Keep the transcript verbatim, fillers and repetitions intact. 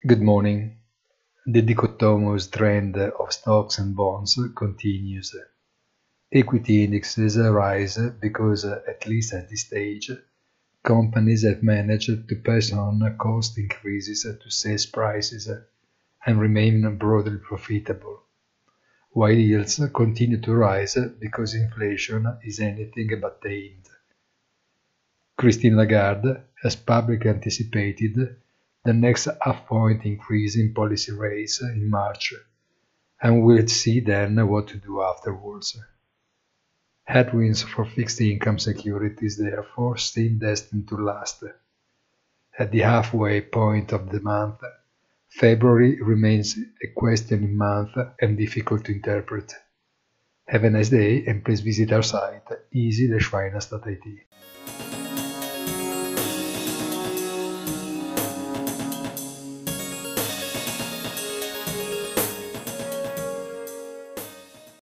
Good morning. The dichotomous trend of stocks and bonds continues. Equity indexes rise because, at least at this stage, companies have managed to pass on cost increases to sales prices and remain broadly profitable, while yields continue to rise because inflation is anything but tamed. Christine Lagarde has publicly anticipated the next half-point increase in policy rates in March, and we'll see then what to do afterwards. Headwinds for fixed income securities therefore seem destined to last. At the halfway point of the month, February remains a questioning month and difficult to interpret. Have a nice day and please visit our site easy dash finance dot I T.